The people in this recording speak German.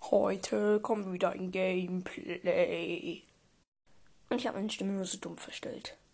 Heute kommt wieder ein Gameplay. Und ich habe meine Stimme nur so dumm verstellt.